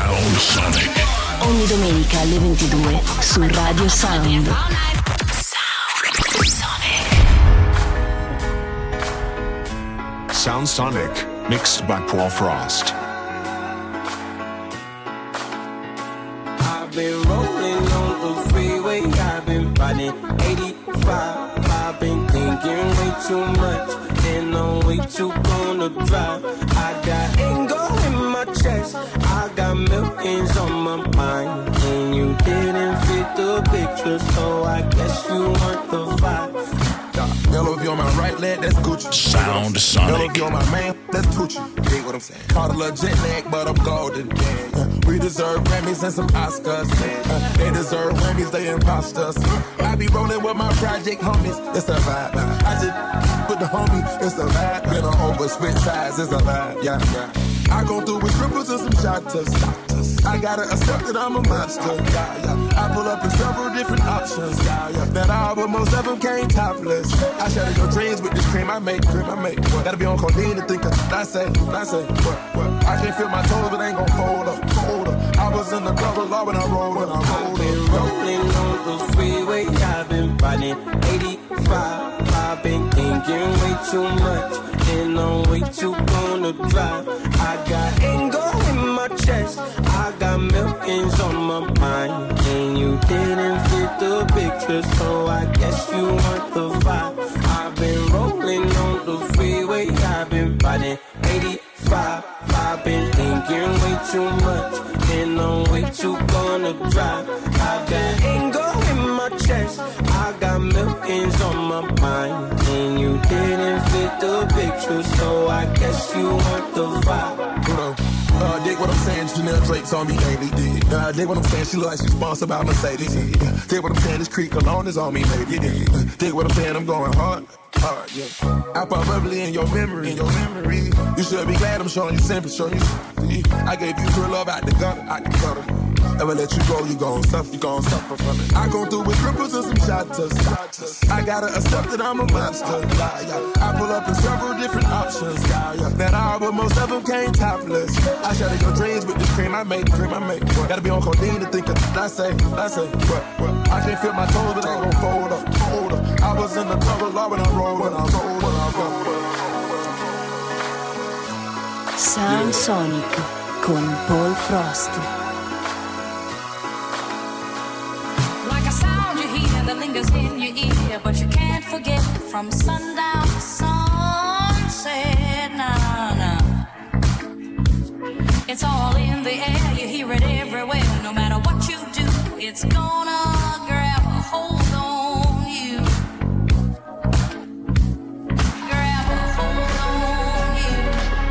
Sound Sonic. Ogni domenica alle 22 su Radio Sound. Sound Sonic, mixed by Paul Frost. I've been rolling on the freeway, I've been riding 85. I've been thinking way too much, and I'm way too gonna drive. I got anger in my chest, I got millions on my mind, and you didn't fit the picture, so I guess you want the vibe. Mellow if you're on my right leg, that's Gucci. Sound Sonic. Mellow if you're on my man, that's Gucci. Dig what I'm saying? Caught a little jet lag, but I'm golden. We deserve Grammys and some Oscars. They deserve Grammys, they imposters. I be rolling with my project homies, it's a vibe. I just with the homie, it's a vibe. Been on over, switch sides, it's a vibe. Yeah, yeah. I go through with strippers and some shotters. I gotta accept that I'm a monster. Yeah, yeah. I pull up in several different options. Yeah, yeah. That album, most of them came topless. I shatter your dreams with this cream I make. What? Gotta be on codeine to think of. I say, what? I can't feel my toes, but ain't gon' fold up. I was in the double law when I rolled. I've been rolling on the freeway, I've been riding 85. I've been thinking way too much, and I'm way too gonna drive. I got anger in my chest, I got millions on my mind, and you didn't fit the picture, so I guess you want the vibe. I've been rolling on the freeway, I've been riding 85. I've been thinking way too much, and I'm way too gonna drive. I got anger in my chest, I got millions on my mind, and you didn't fit the picture, so I guess you want the vibe. Dig what I'm saying, Chanel Drake's on me daily. Dig what I'm saying, she look like she's sponsored by Mercedes. Dig what I'm saying, this Creek Cologne is on me, baby. Dig what I'm saying, I'm going hard, yeah. I pop bubbly in your memory, You should be glad I'm showing you simple, I gave you true love out the gutter. Never let you go, you gon' suffer from it. I go through with cripples and some shotters. I gotta accept that I'm a monster. I pull up in several different options. That album, most of them came topless. I shatter your dreams with this cream I make. What? Gotta be on codeine to think of. I say, what? I can't feel my toes, but ain't gon' fold up. I was in the double law when I rolled. Sound Sonic con Paul Frost. That lingers in your ear, but you can't forget from sundown to sunset. Nah. It's all in the air, you hear it everywhere. No matter what you do, it's gonna grab a hold on you. Grab a hold on you.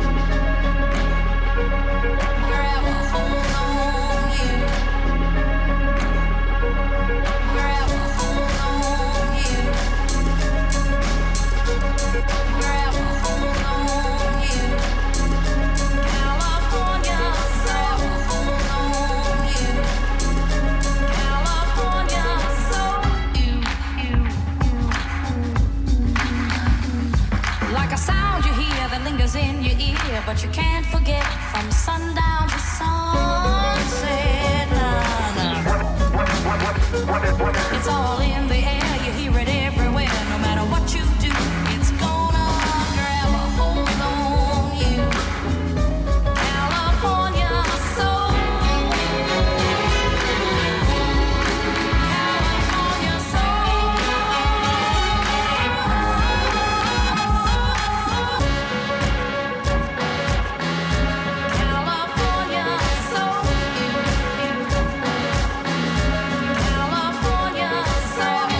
Grab a hold on you. Grab a hold on you. Grab a hold on you. California, grab a hold on you. California, so you. Like a sound you hear that lingers in your ear, but you can't forget from sundown to sunset. Nah. It's all in the air, you hear it everywhere. No matter what you do, it's gonna grab a hold on you. California soul. California soul. California soul. California soul.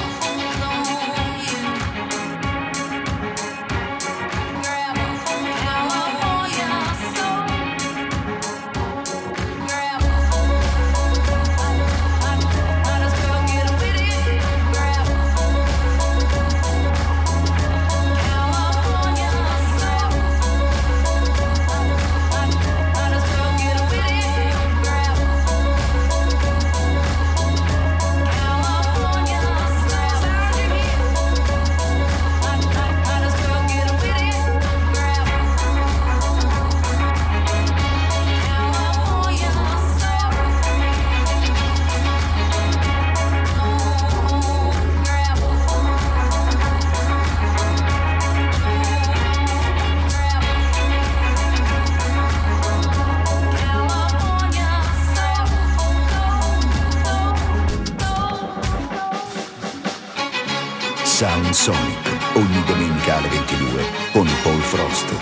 Sound Sonic, ogni domenica alle 22 con Paul Frost.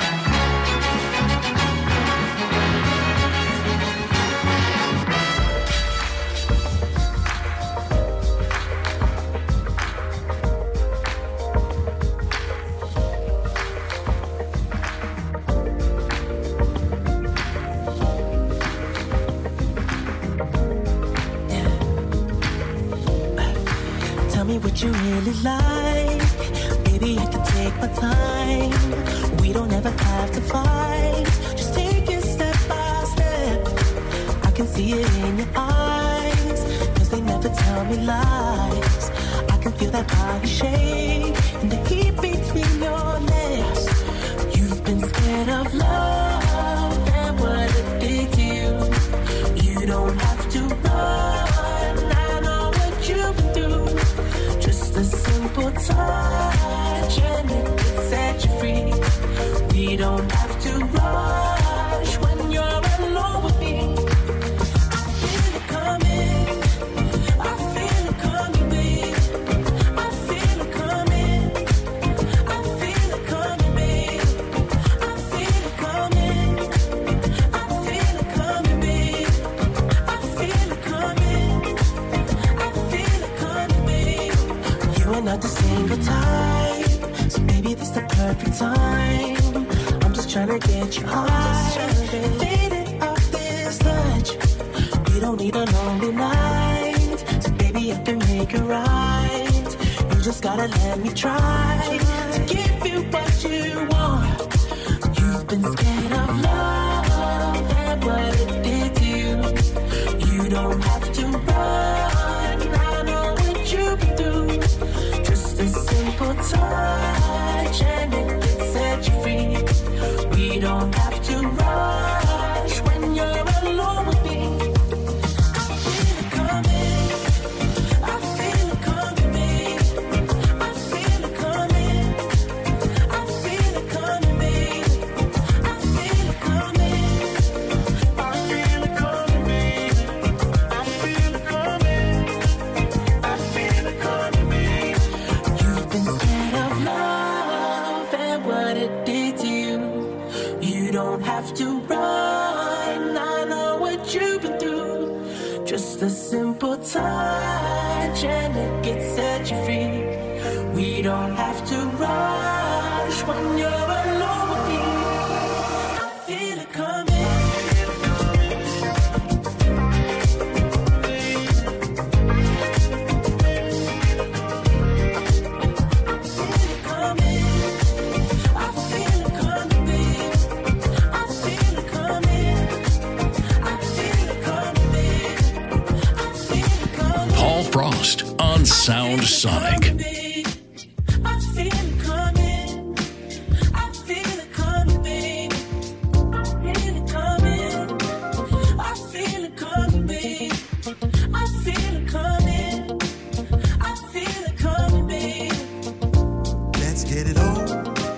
What you really like, baby, I can take my time. We don't ever have to fight, just take it step by step. I can see it in your eyes, cause they never tell me lies. I can feel that body shake and the heat between your legs. You've been scared of love and what it did to you. You don't have to run, I know what you've been through. Just a simple touch and it can set you free. We don't have to rush when you're alone with me. I feel it coming, I feel it coming, babe. I feel it coming, I feel it coming, babe. I feel it coming, I feel it coming, babe. I feel it coming, I feel it coming, babe. You are not the single type, so maybe this the perfect time. I'm just trying to get you high, faded off this touch. We don't need a lonely night, so baby I can make it right. You just gotta let me try to give you what you want. You've been scared of love and what it did to you. You don't have to run, I know what you've been through. Just a simple touch and it can set you free. We don't have to rush when you're alone with me. I feel it coming, I feel it coming, babe. I feel it coming, I feel it coming, babe. I feel it coming, I feel it coming, babe. I feel it coming, I feel it coming, babe. You've been scared of love and what it did to you. You don't have to run, I know what you've been through. Just a simple touch and it can set you free. We don't have to rush when you're alone with me. I feel it coming. Paul Frost on Sound Sonic. I feel it coming. I feel it coming, babe. I feel it coming. I feel it coming, babe. I feel it coming. I feel it coming, babe. Let's get it on.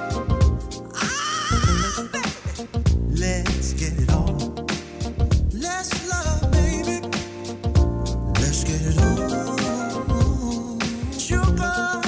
Let's get it on. Let's love, baby. Let's get it on. Sugar.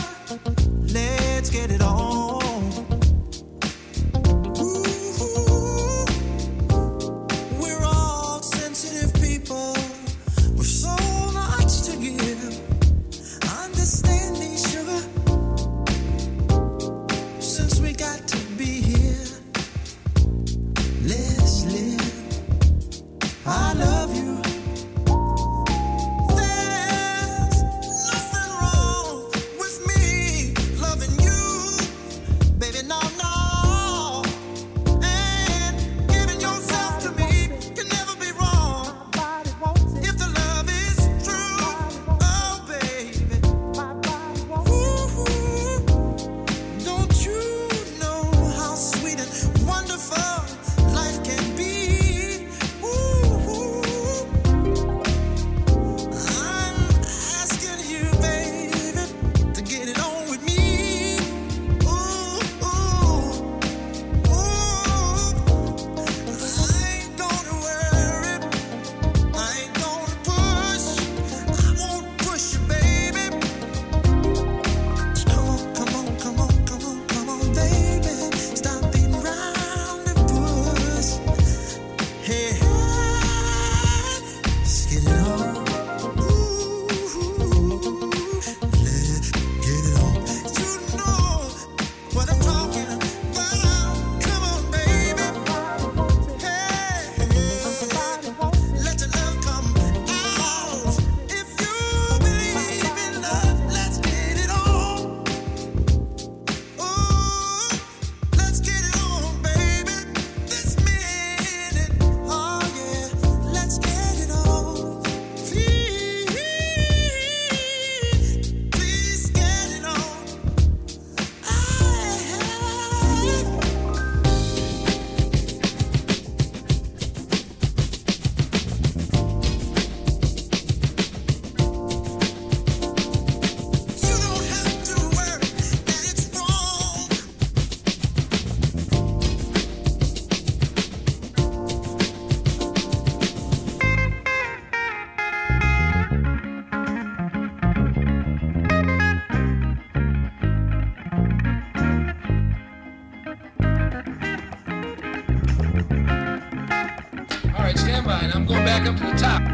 right, I'm going back up to the top.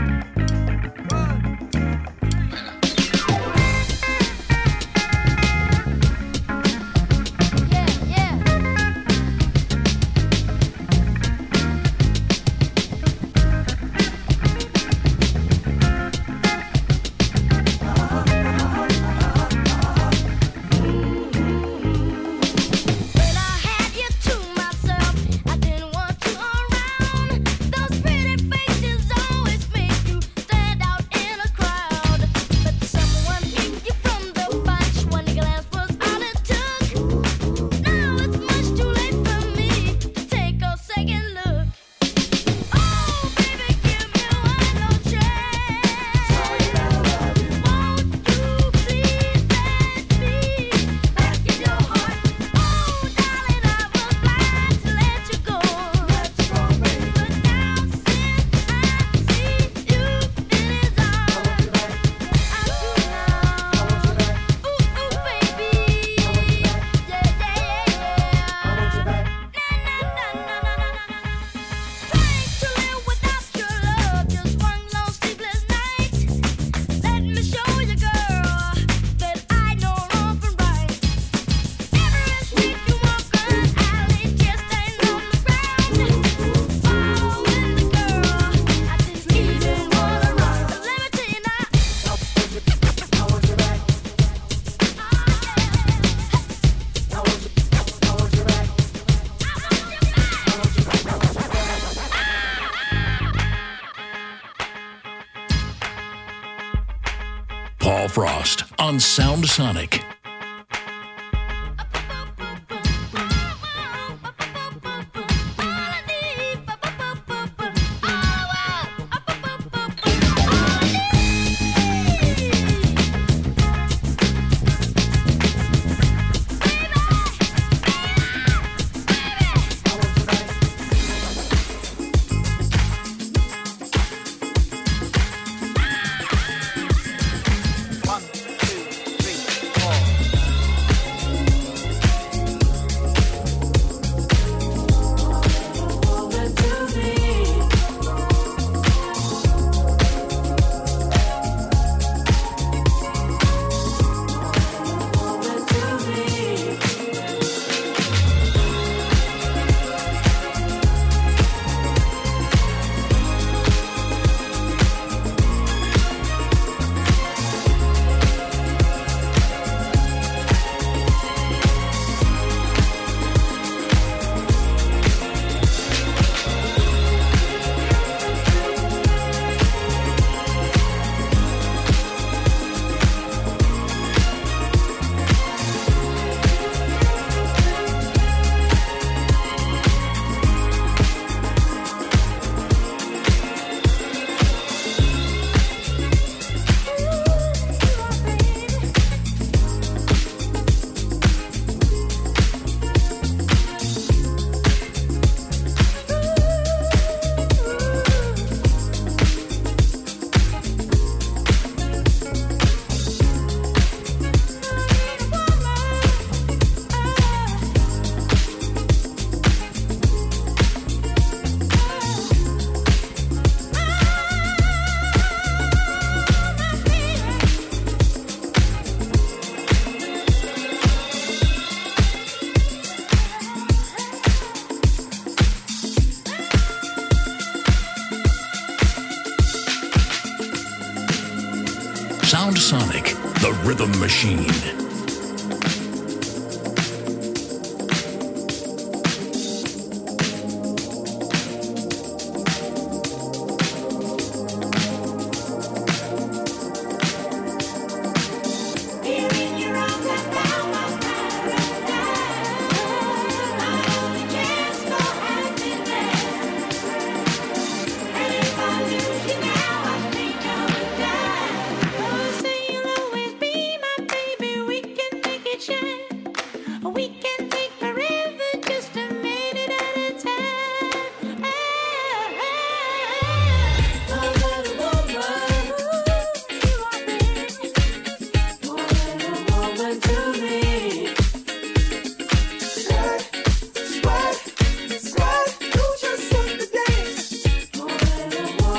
Those pretty faces always make you stand out in a crowd. But someone picked you from the bunch. One glance was all it took. Now it's much too late for me to take a second look. Oh, baby, give me one more chance. Won't you please let me back in your heart? Oh, darling, I was blind to let you go. But now since I see you in his arms, I do now. Ooh, baby, yeah. Trying to live without your love, just one long sleepless night. Let me show you, girl, that I know wrong from right. Every street you walk, an alley, just ain't on the ground. Following the girl, I didn't even wanna run. But let me tell you now, I want you back. Paul Frost on Sound Sonic. Sound Sonic, the rhythm machine. Say you'll always be my baby. We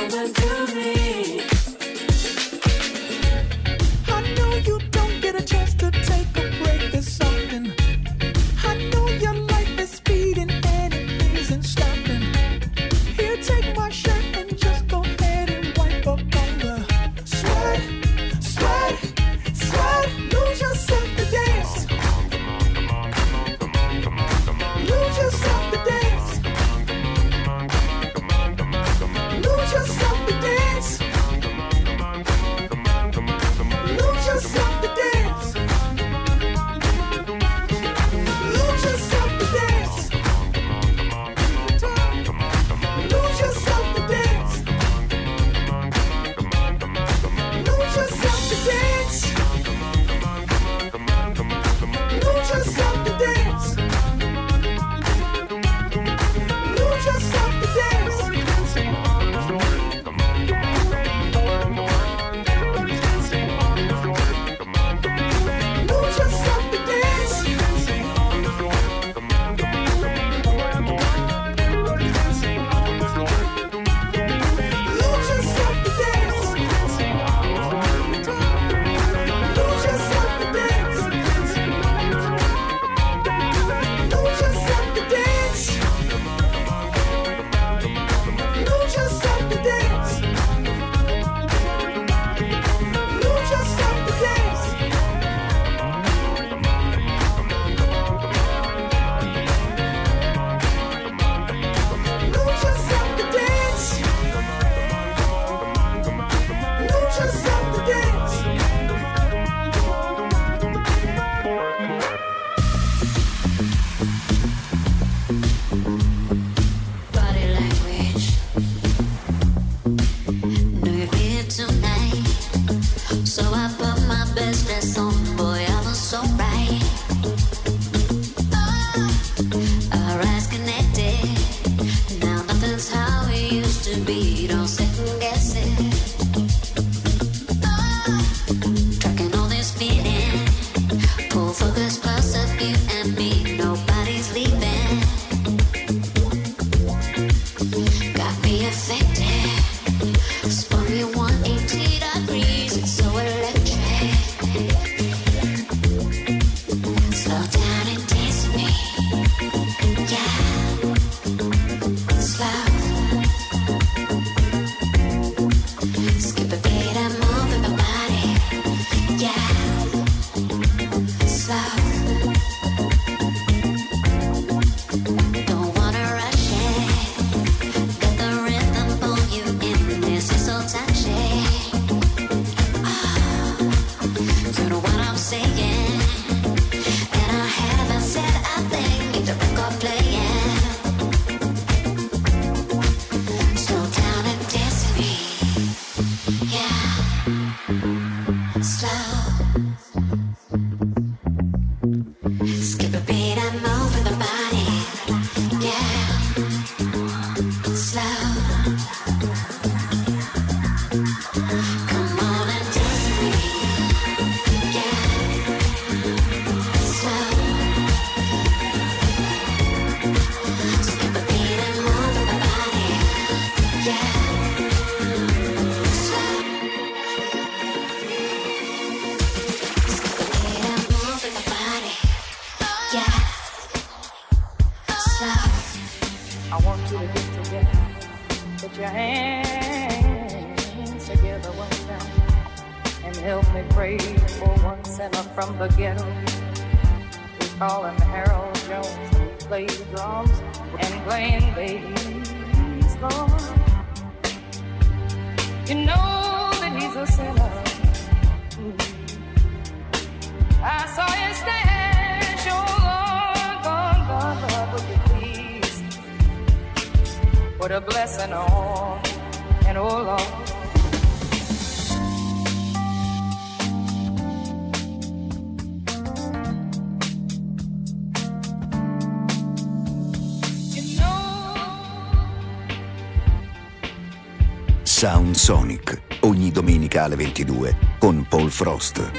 never do me. I know you don't get a chance to take a break this often. I know your life is speeding and it isn't stopping. Here, take my shirt and just go ahead and wipe up on the sweat, sweat, sweat. Lose yourself to dance. Lose yourself to dance. Lose yourself to dance. Lose yourself to dance. Lose yourself to dance. Lose yourself to dance. Lose yourself to dance. Lose yourself to dance. Lose yourself to dance. Lose yourself to dance. Lose yourself to dance. Lose yourself to dance. Lose yourself to dance. Lose yourself to dance. Lose yourself to dance. Lose yourself to dance. Lose yourself to dance. Body language. Know you're here tonight, so I put my best dress on. Boy, I was so right. Our eyes connected. Now nothing's how it used to be. Don't second guess it. Tracking all this feeling. Pull focus close up, you and me. Nobody's leaving. Got me affected. Spun me 180 degrees. It's so electric. Slow down and dance with me. Yeah. Slow. Skip a beat and move in my body. Yeah. Slow. Don't wanna rush it. Got the rhythm, pull you in. This is so touchy. You know what I'm saying? And I haven't said a thing. Get the record playing. Slow down and dance with me. Yeah. Slow. Skip a beat and move with the body. Yeah. Slow. Come on and dance with me. Yeah. Slow. Skip a beat and move with the body. Yeah. Slow. Skip a beat and move with the body. Yeah. Slow. I want you to get together. Put your hands together one time and help me pray for one sinner from the ghetto. We call him Harold Jones. He plays drums and playing bass, Lord. You know that he's a sinner. I saw you stand, oh Lord, God, would you please put a blessing on, and oh Lord. Sound Sonic, ogni domenica alle 22 con Paul Frost.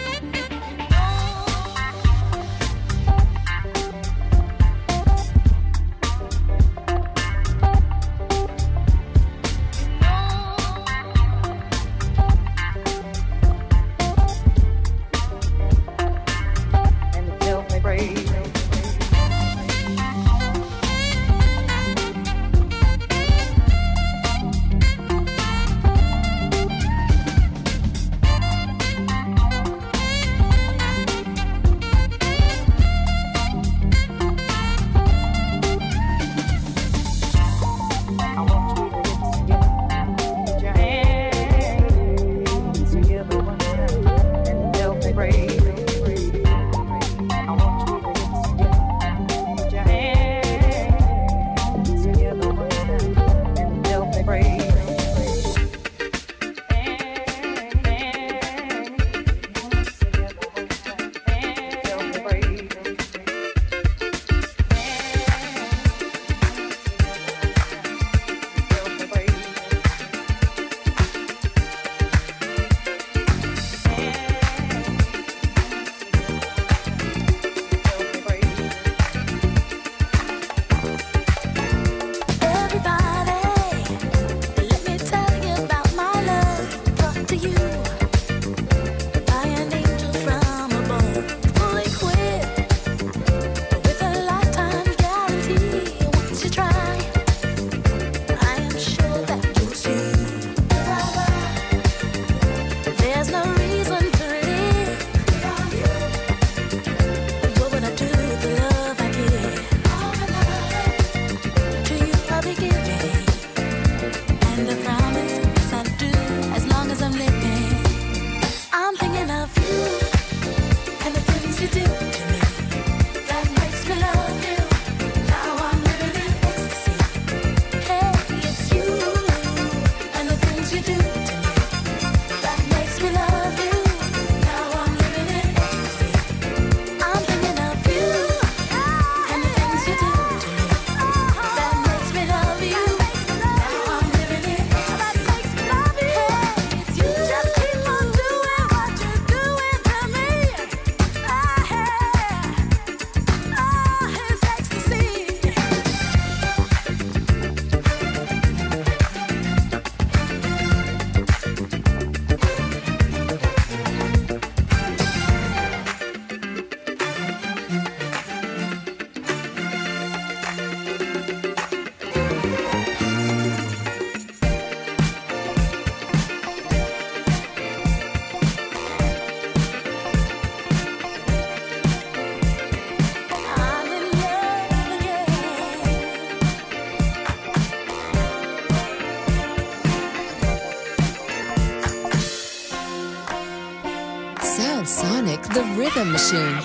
Sonic, the Rhythm Machine.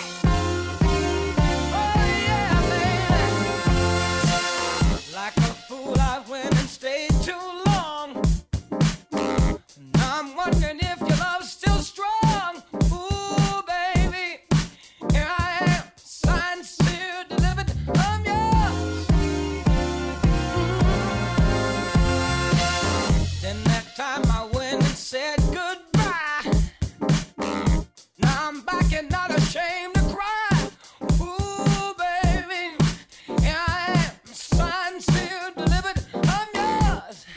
Like a fool, I went and stayed too long. Now I'm wondering if your love's still strong. Ooh, baby, here I am, signed, sealed, delivered, I'm yours. Then that time I went and said goodbye. Now I'm back and not ashamed to cry. Ooh, baby, here I am, signed, sealed, delivered, I'm yours.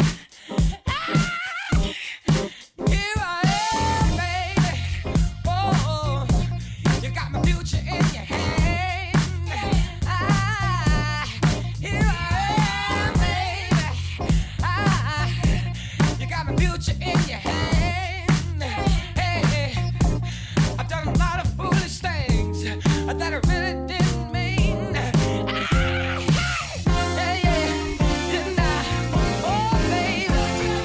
Here I am, baby. Oh, you got my future in your hand. Here I am, baby. You got my future in your hand. Hey, I've done a lot of foolish things that I really didn't mean. Didn't I? Oh, baby.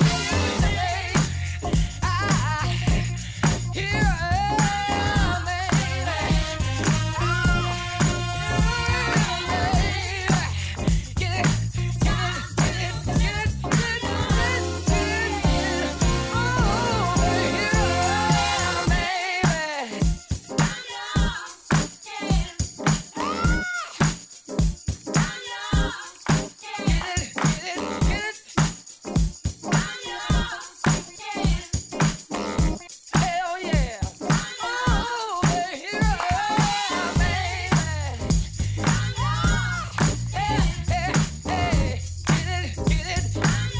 Here I am, baby. Get it. Oh, here I am, baby. Hell yeah. Oh, here I am, baby. Hey, get it.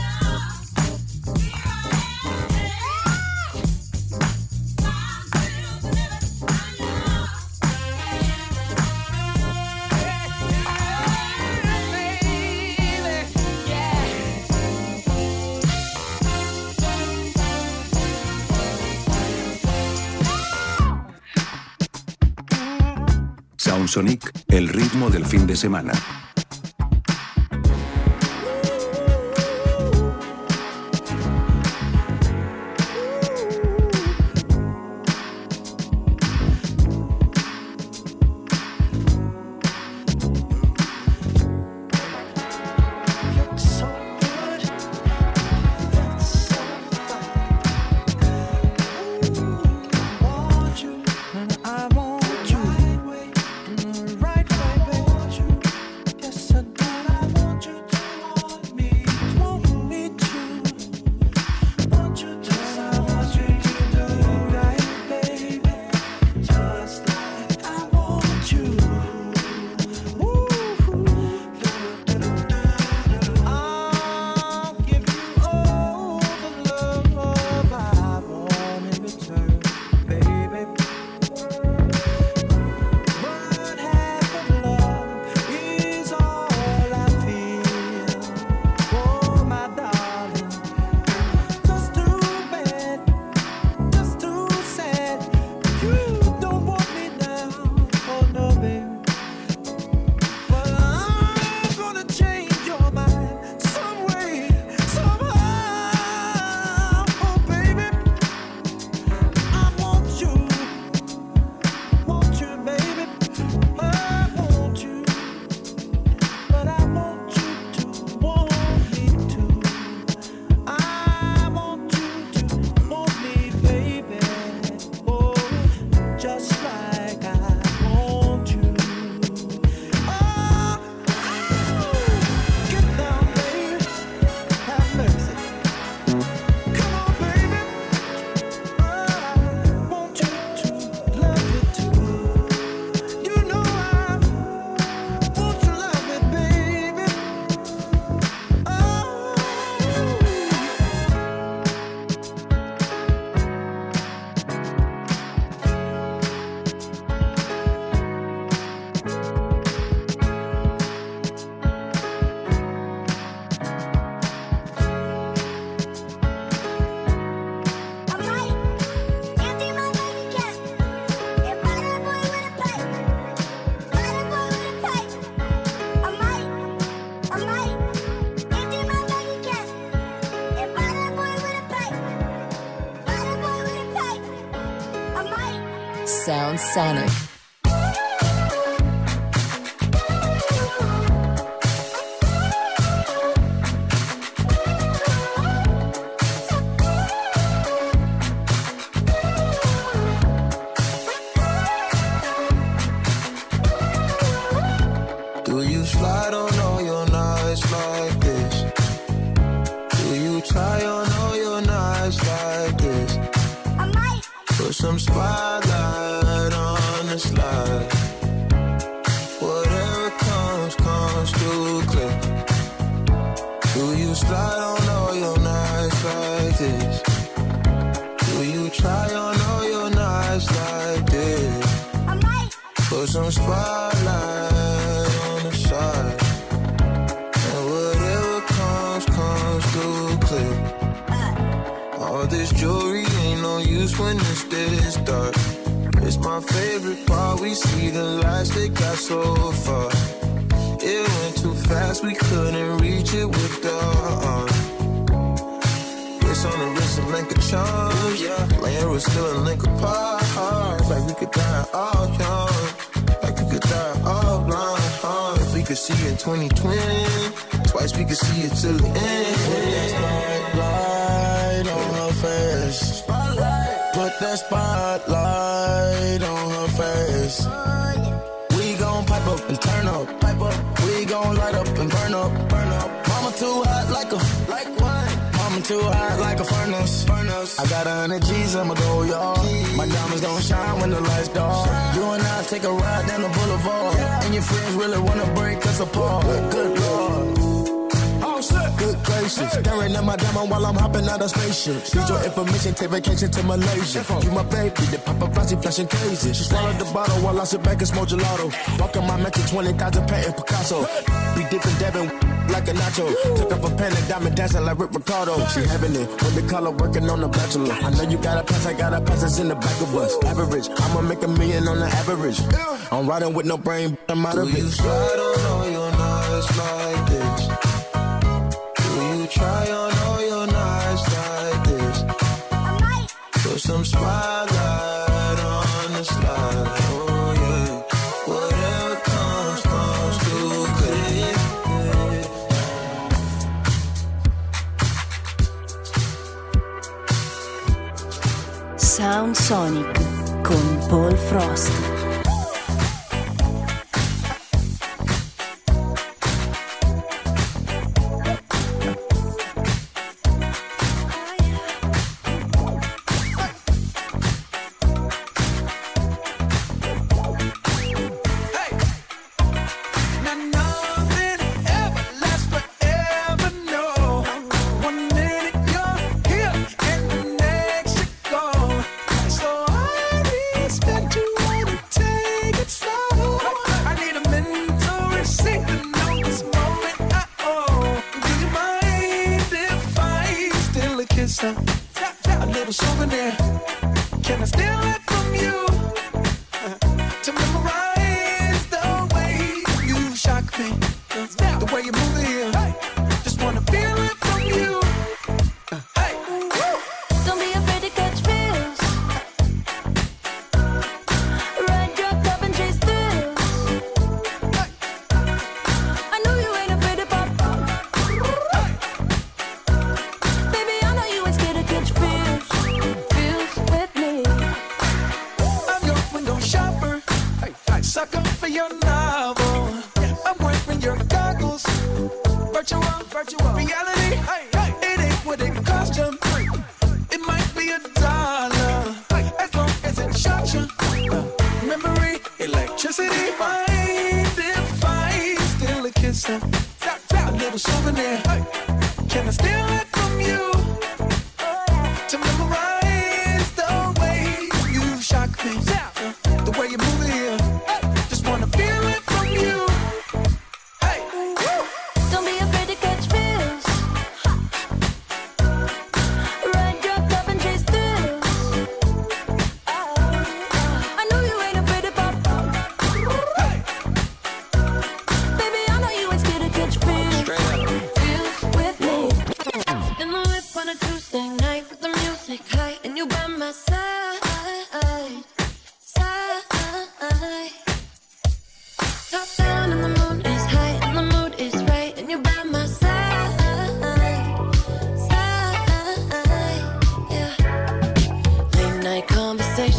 Baby, yeah. Sound Sonic, el ritmo del fin de semana. I want you in the right way, baby. Sound Sonic. Do you slide on all your nights like this? Do you try on all your nights like this? I might. Put some spotlight on the slide. Whatever comes, comes through clear. Do you slide on all your nights like this? Do you try on all your nights like this? I might. Put some spotlight on the side. And whatever comes, comes through clear. All this jewelry ain't no use when it's this dark. It's my favorite part, we see the lights that got so far. It went too fast, we couldn't reach it with the arm. Wrist on the wrist, a link of charms, yeah. Laying was still a link apart. Like we could die all young, like we could die all blind. If we could see in 2020, twice we could see it till the end. Put that spotlight on her face. Put that spotlight on her face. We gon' pipe up and turn up. We gon' light up and burn up. Mama too hot like what? Mama too hot like a furnace. I got 100 G's, I'ma go, y'all. My diamonds gon' shine when the lights dark. You and I take a ride down the boulevard. And your friends really wanna break us apart. Good Lord. Good gracious, staring at my diamond while I'm hopping out of spaceship. Need your information, take vacation to Malaysia. You my baby, the paparazzi flashing crazy. She swallowed the bottle while I sit back and smoke gelato. Walking my mansion, 20,000 painting Picasso. Be dipping, dabbing like a nacho. Took off a pen and diamond dancing like Rick Ricardo. She having it with the color working on the bachelor. I know you got a pass, I got a pass, it's in the back of us. Average, I'ma make $1 million on the average. I'm riding with no brain, but I'm out of it. You slide on all your nights like this. Try on all your nights like this. Put some spotlight on the slide. Oh yeah. Whatever comes, comes through clear. Sound Sonic con Paul Frost. A little souvenir. Can I steal it from you? To memorize the way you shock me, the way you move it here. Just wanna feel it from you. Hey, Don't be afraid to catch feels. Ride your cup and chase thrills. I know you ain't afraid to pop. Baby, I know you ain't scared to catch feels. Feels with me. I'm your window shopper. Sucker for your novel. I'm wearing your goggles. Virtual reality. It ain't what it cost you. It might be $1 as long as it shocks you. Memory, electricity. Mind if I steal a kiss? A little souvenir. Can I steal it from you? To memorize the way you shock me, the way you move it here. Just wanna feel it from you. Hey, Don't be afraid to catch feels. Ride your cup and chase thrills. I know you ain't afraid to pop. Baby, I know you ain't scared to catch feels. Feels with me. In the whip on a Tuesday night with the music high and you by my side, side.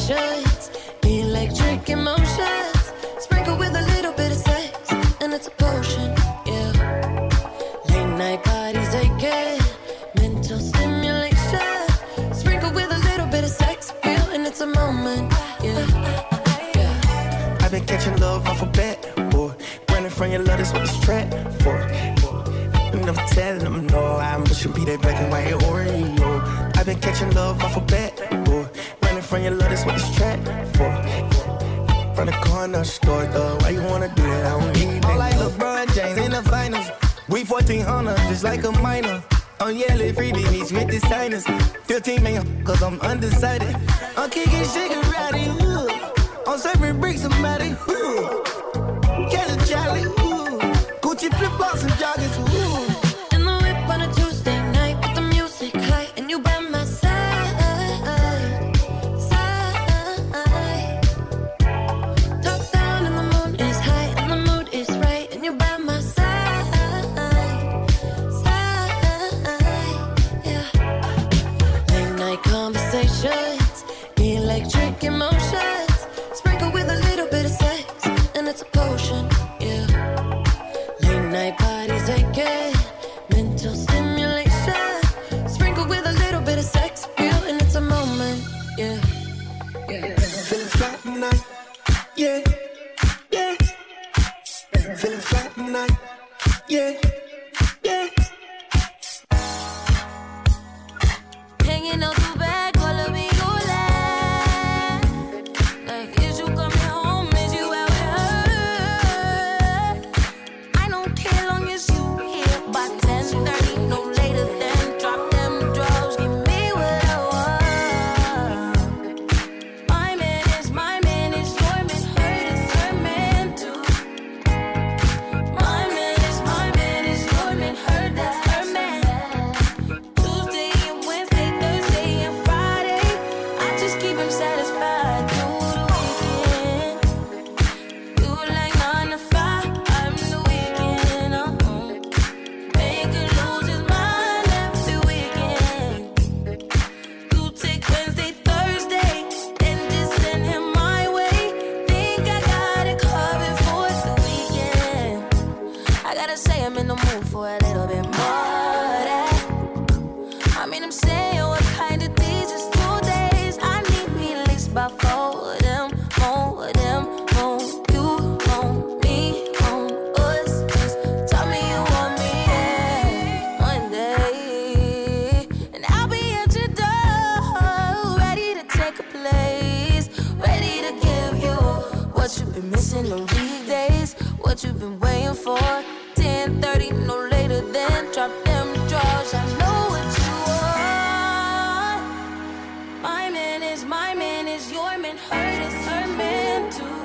conversations, electric emotions, sprinkle with a little bit of sex, and it's a potion, yeah. Late night bodies aching, mental stimulation, sprinkle with a little bit of sex appeal, and it's a moment, yeah. I've been catching love off a bat, boy. Running from your love, that's what it's trapped for. And I'm telling them no, I should be that black and white Oreo. I've been catching love off a bat, boy. Running from your love, that's what it's trapped for. From the corner store, though, why you wanna do that? I don't need that. All like LeBron James in the finals. We 1400, just like a minor. I'm yelling free beach with the signers. 15 million, cause I'm undecided. I'm kicking shigarati, ooh. I'm serving bricks, somebody, ooh. Catch a Charlie, ooh. Gucci flip-flops and joggers, ooh. In the whip on a Tuesday night with the music high, and you by my side, side. Top down and the moon is high, and the mood is right, and you by my side, side. Yeah. Late night conversations, electric emotions, sprinkle with a little bit of sex, and it's a potion, yeah. Late night bodies aching, mental stimulation, sprinkle with a little bit of sex appeal, and it's a moment, yeah. Feeling flat tonight, yeah, yeah. Feeling flat tonight, yeah, yeah. Hanging out the back, calling me your last. Like, is you coming home? Is you out with her? I don't care long as you here by 10:30, no later than drop them drugs, give me what I want. My man is your man, her is her man too. My man is your man, her that's her man. Tuesday and Wednesday, Thursday and Friday, I just keep him satisfied through the weekend. You like 9 to 5, I'm the weekend. Make him lose his mind every weekend. You take Wednesday, Thursday, and just send him my way. Think I got it covered for the weekend. I gotta say I'm in the mood for a little bit more of that. I mean, I'm saying what kind of days is 2 days. I need me at least about 4 of them, more of them, more you, more me, more us. Just tell me you want me there one day, and I'll be at your door, ready to take a place, ready to give you what you've been missing on weekdays, what you've been waiting for. 10:30, no later than drop them drawers. I know what you want. My man is your man, her is her man too.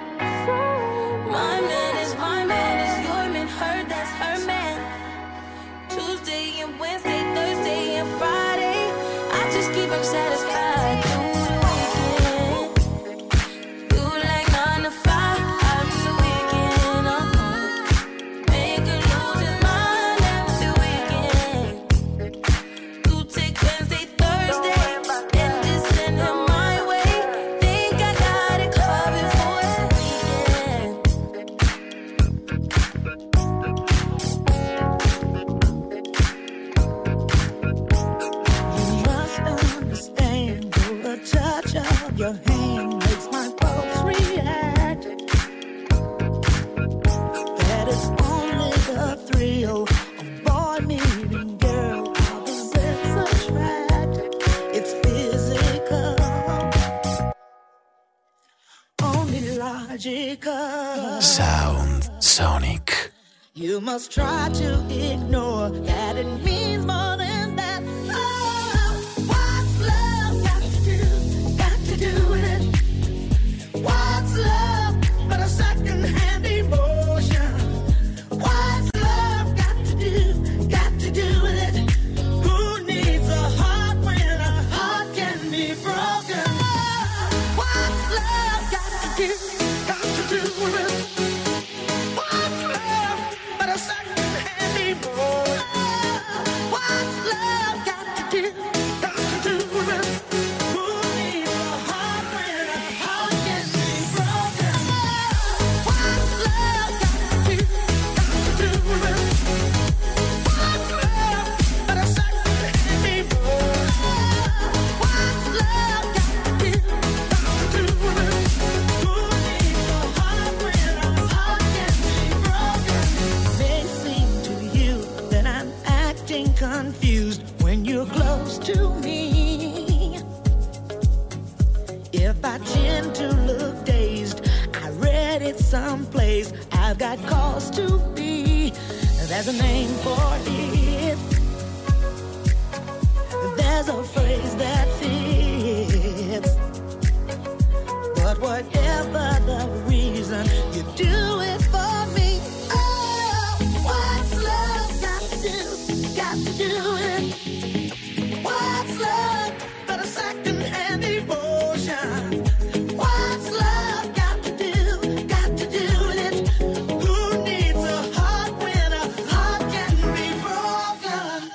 My man is your man, her that's her man. Tuesday and Wednesday, Thursday and Friday, I just keep him satisfied through the weekend. You like 9 to 5, I'm the weekend. Make him lose his mind every weekend. You take Wednesday, Thursday, and just send him my way. Think I got it covered for the weekend. You must understand, the touch of your hand makes my pulse react. That is only the thrill of boy meeting girl. Opposites attract. It's physical, only logical. Sound Sonic. You must try to ignore that it means more than that. Oh, what's love got to do with it? What's love but a second-hand emotion? What's love got to do with it? Who needs a heart when a heart can be broken? What's love got to do with it? What's love but a second-hand emotion? begin to look dazed. I read it someplace. I've got cause to be. There's a name for it. There's a phrase that fits. But whatever the reason, you do it for me. Oh, what's love got to do? Got to do it. What's love but a second-hand devotion? What's love got to do? Got to do it. Who needs a heart when a heart can be broken?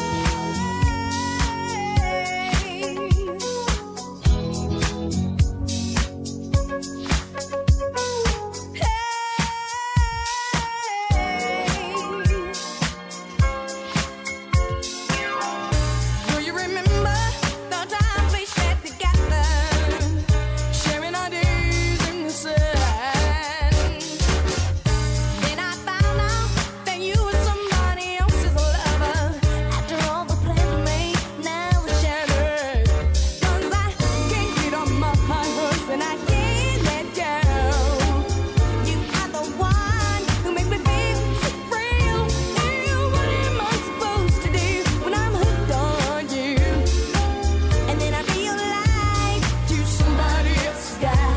Do you remember the times we shared together, sharing our days in the sun? Then I found out that you were somebody else's lover. After all the plans we made, now it's shattered. 'Cause I can't get on my high horse and I can't let go. You are the one who makes me feel so real. What am I supposed to do when I'm hooked on you? And then I realize you're somebody else's guy.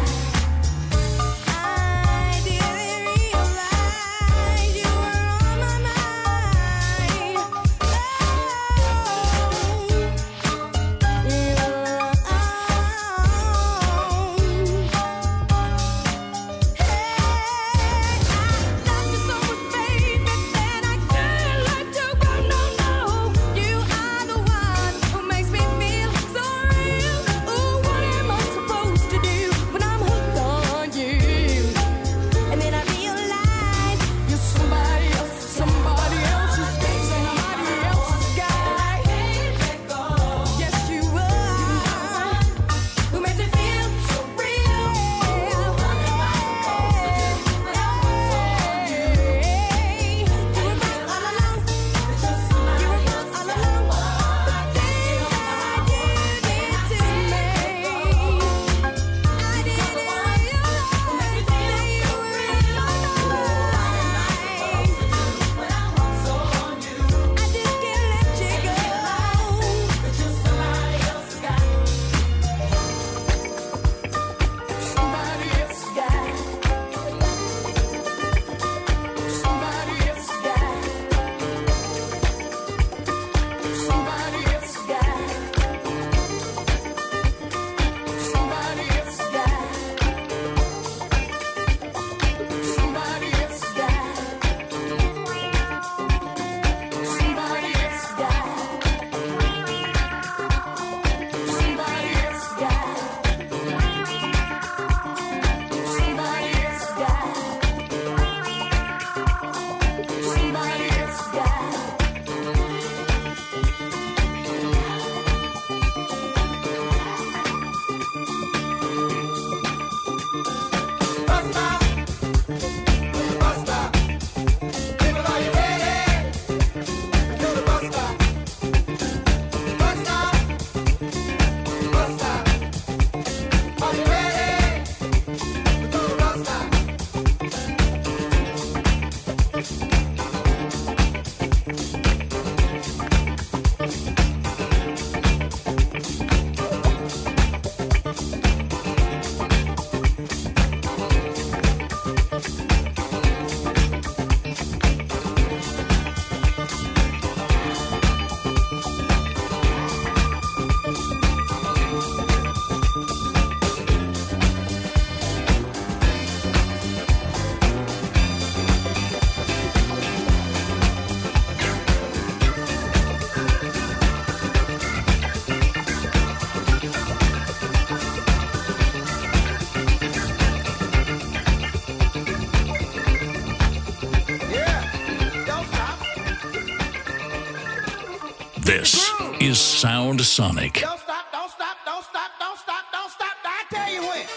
I didn't realize you were on my mind. You are the one who makes me feel so real. Oh, what am I supposed to do when I'm hooked on you? And then I realize you're somebody else's guy. Yes, you are. Who makes me feel so real? What am I supposed to do when I'm hooked on you? You were right all along. You were right all along. The things that you did to me, I didn't realize that you were in my mind. I just can't let you go. You're somebody else's guy. Somebody else's guy. Somebody else's guy. Somebody else's guy. Somebody else's guy. Somebody else's guy. Somebody else's guy. Somebody else's guy. Somebody else's guy. Somebody else's guy. This is Sound Sonic. Don't stop, don't stop, don't stop, don't stop, don't stop. I tell you when.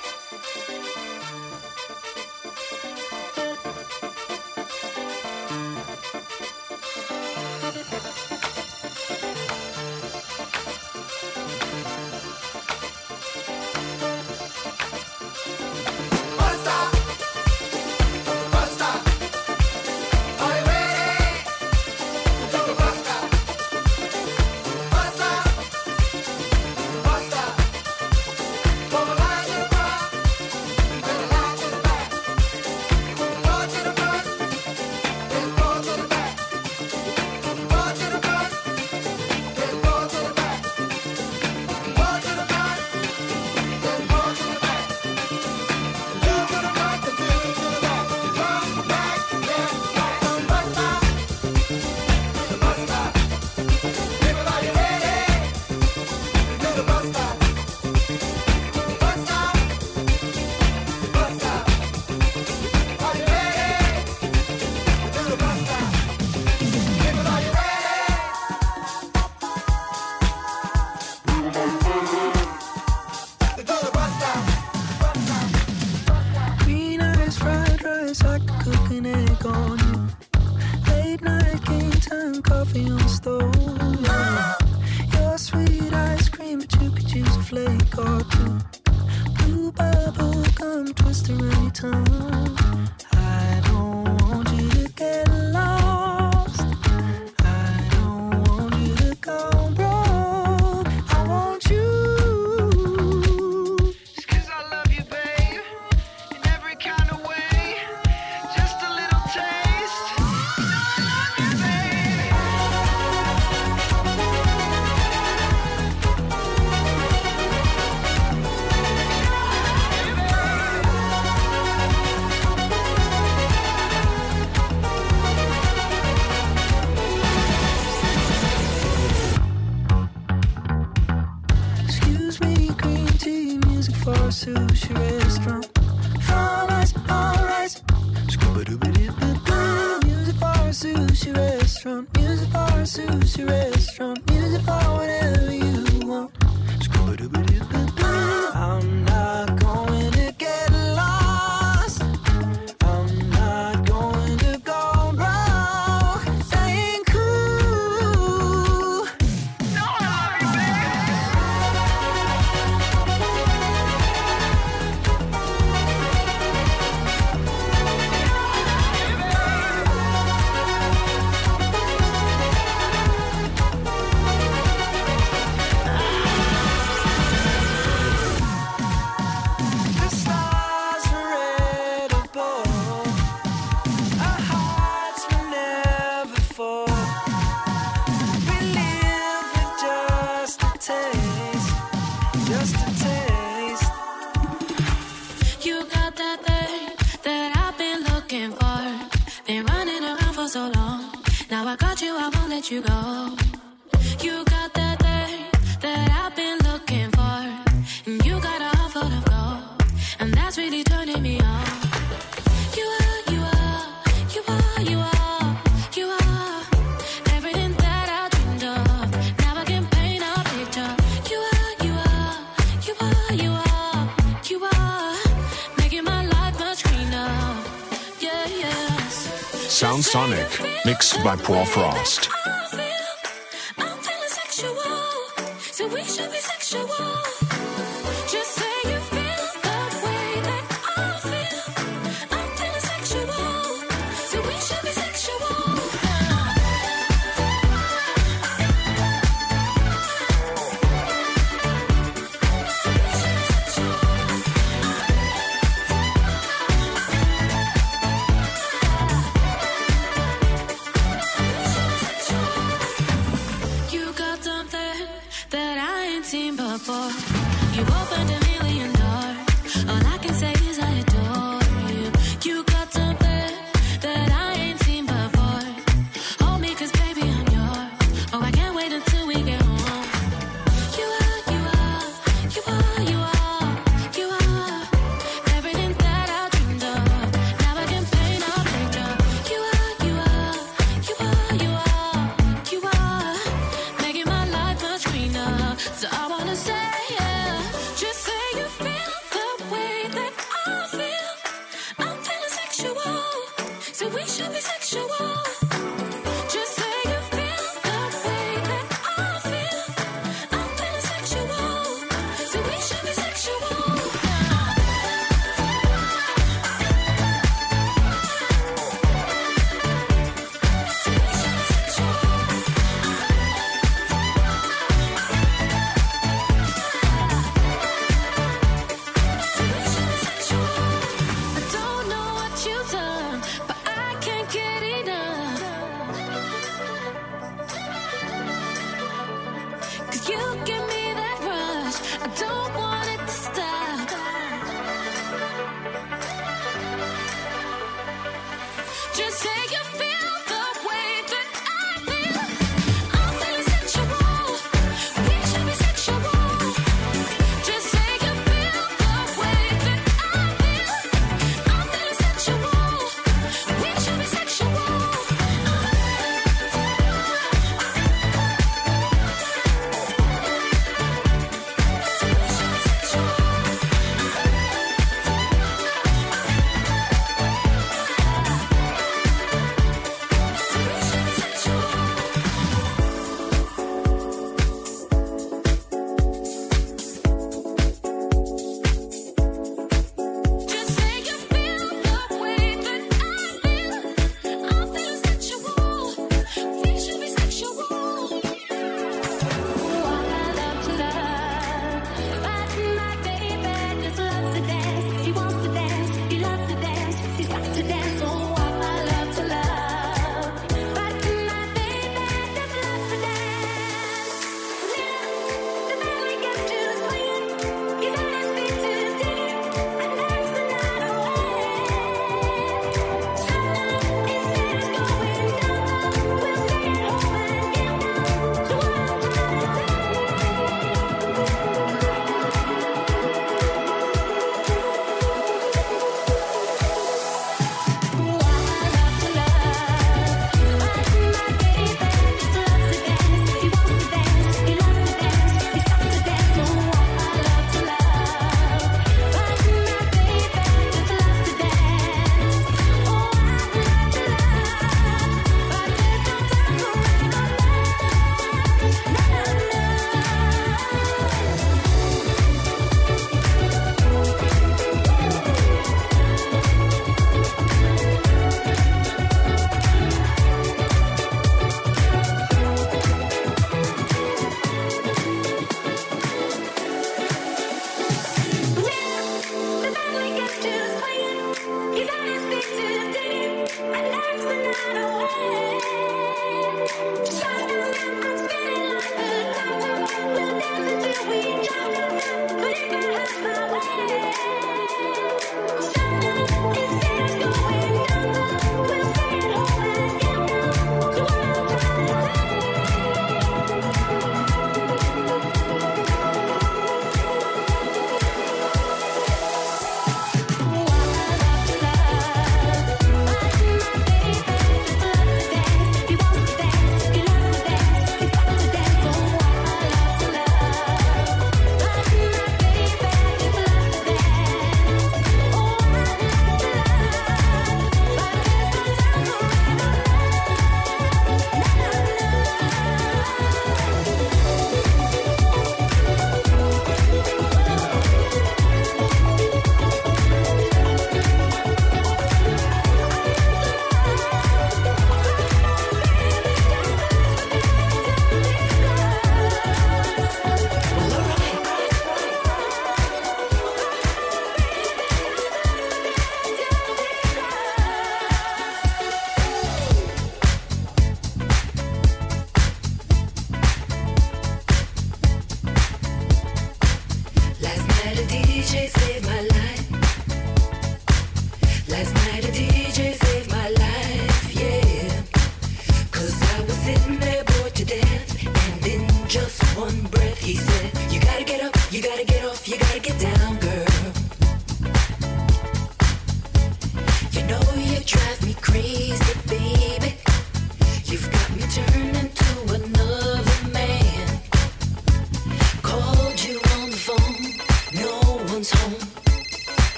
Green eyes, fried rice, I could cook an egg on you. Late night game time, coffee on the stove. Your sweet ice cream, but you could use a flake or two. Blue bubble gum twist around your tongue. I don't want you to get lost. I don't want you to go broke. I want you. Just 'cause I love you, babe, in every kind of way. Just a little taste. I love you, babe. Excuse me, green tea, music for a sushi restaurant. All rice, all rice. Scuba-dooba-doo-ba-doo. Music for a sushi restaurant. Music for a sushi restaurant. Music for whatever you want. Scuba-dooba-doo-ba-doo. I'm not going to get lost. I'm not going to go broke. That ain't cool. No, I love you, babe. The stars were red above. Our hearts will never fall. We live with just a taste, just a taste. You got that thing that I've been looking for. Been running around for so long. Now I got you, I won't let you go. You got that thing that I've been looking for. And you got a heart full of gold. And that's really turning me on. You are, you are, you are, you are, you are everything that I dreamed of. Now I can paint a picture. You are, you are, you are, you are, you are making my life much greener. Yeah, yes. Sound Sonic, mixed by Paul Frost. I'm feeling sexual, so we should be sexual. Just say you feel the way that I feel. I'm feeling sexual, so we should be sexual. You got something that I ain't seen before. You opened a million doors. All I can say is I adore you. You got something that I ain't seen before. Hold me 'cause baby I'm yours. Oh, I can't wait until we get home. You are, you are, you are, you are, you are everything that I dreamed of. Now I can paint a picture. You are, you are, you are, you are, you are making my life much greener. So I wanna say, yeah, just say you feel the way that I feel. I'm feeling sexual, so we should be sexual. Just say you feel the way that I feel. I'm feeling sexual, so we should be sexual.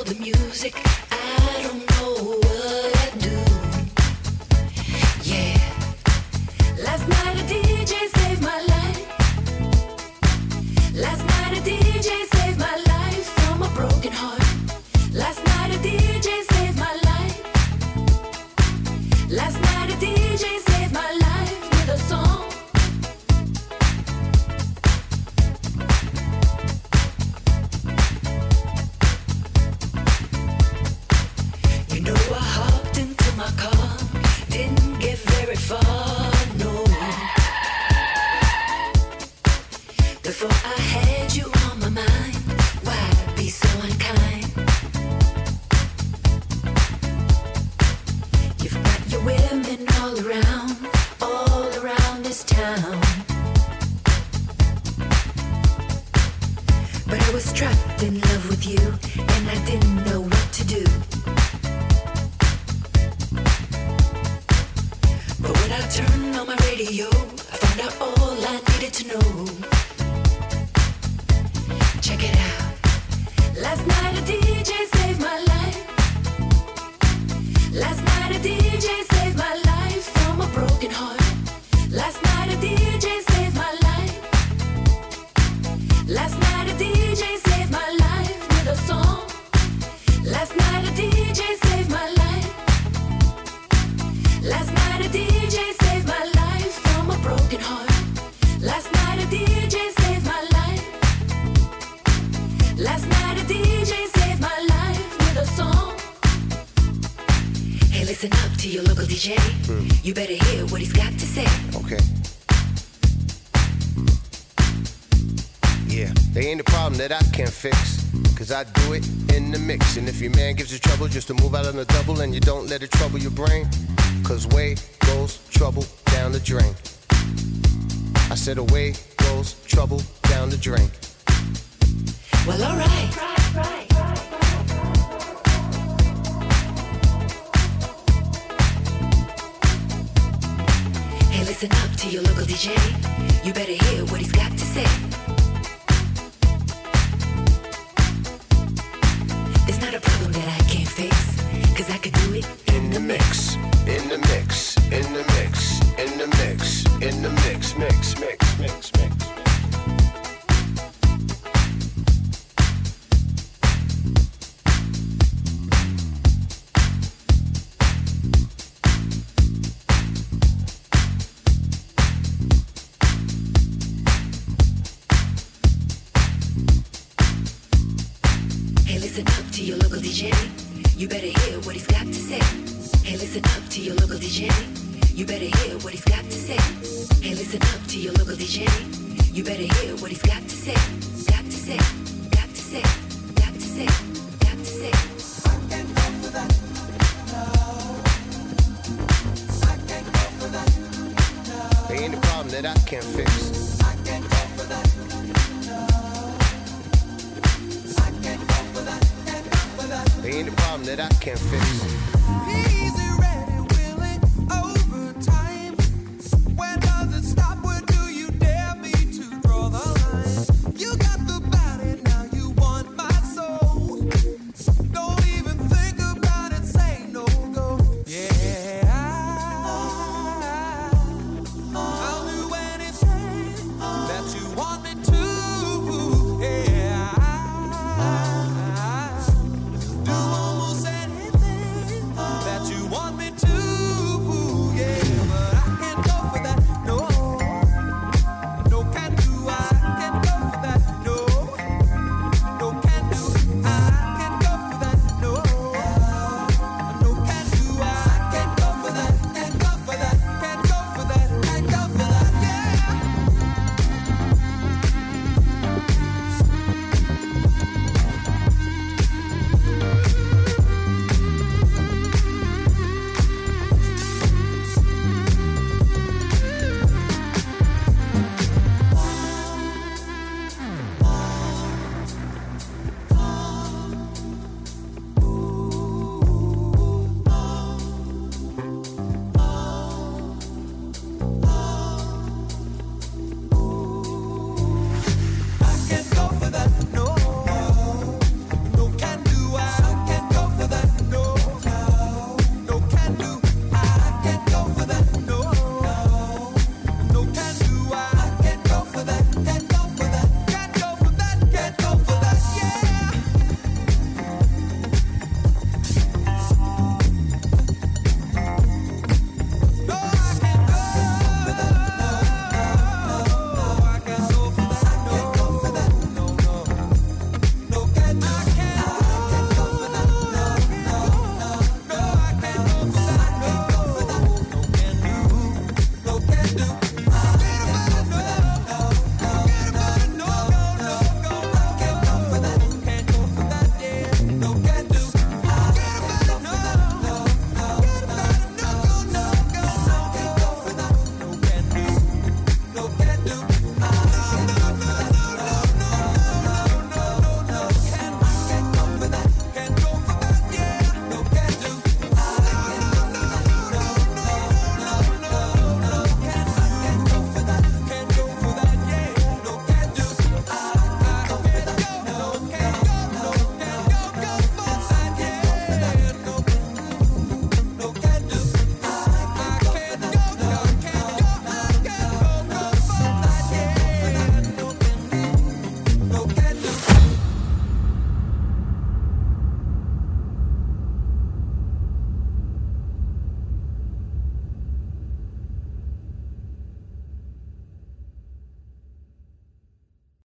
the music, I don't know what I do. Yeah. Last night a DJ saved my life. Last night a DJ saved my life from a broken heart. Last night a DJ saved my life. Last night a DJ saved my life with a song. You know I hopped into my car, didn't get very far, no. Before I had you on my mind, why be so unkind? You've got your women all around this town. But I was trapped in love with you, and I didn't know what to do. But when I turned on my radio, I found out all I needed to know. Check it out. Last night a DJ saved my life. Last night a DJ saved my life from a broken heart. Last night a DJ saved my life. Last night a DJ saved my life with a song. Last night a DJ saved my life. Last night a DJ saved my life from a broken heart. Last night a DJ saved my life. Last night a DJ saved my life with a song. Hey, listen up to your local DJ. You better hear what he's got to say. Okay. Yeah, they ain't a problem that I can't fix, cause I do it in the mix. And if your man gives you trouble just to move out on the double, and you don't let it trouble your brain, cause away goes trouble down the drain. I said away goes trouble down the drain. Well, alright. Hey, listen up to your local DJ. You better hear what he's got to say. There's not a problem that I can't fix, cause I could do it in the mix, in the mix, in the mix, in the mix, in the mix, mix, mix, mix, mix. Hey, listen up to your local DJ. You better hear what he's got to say. Hey, listen up to your local DJ. You better hear what he's got to say. Hey, listen up to your local DJ. You better hear what he's got to say. Got to say, got to say, got to say, got to say. I can't go for that. No. I can't go for that. No. There ain't a problem that I can't fix. I can't go for that. No. I can't go for that. Can't go for that. There ain't a problem that I can't fix. Easy.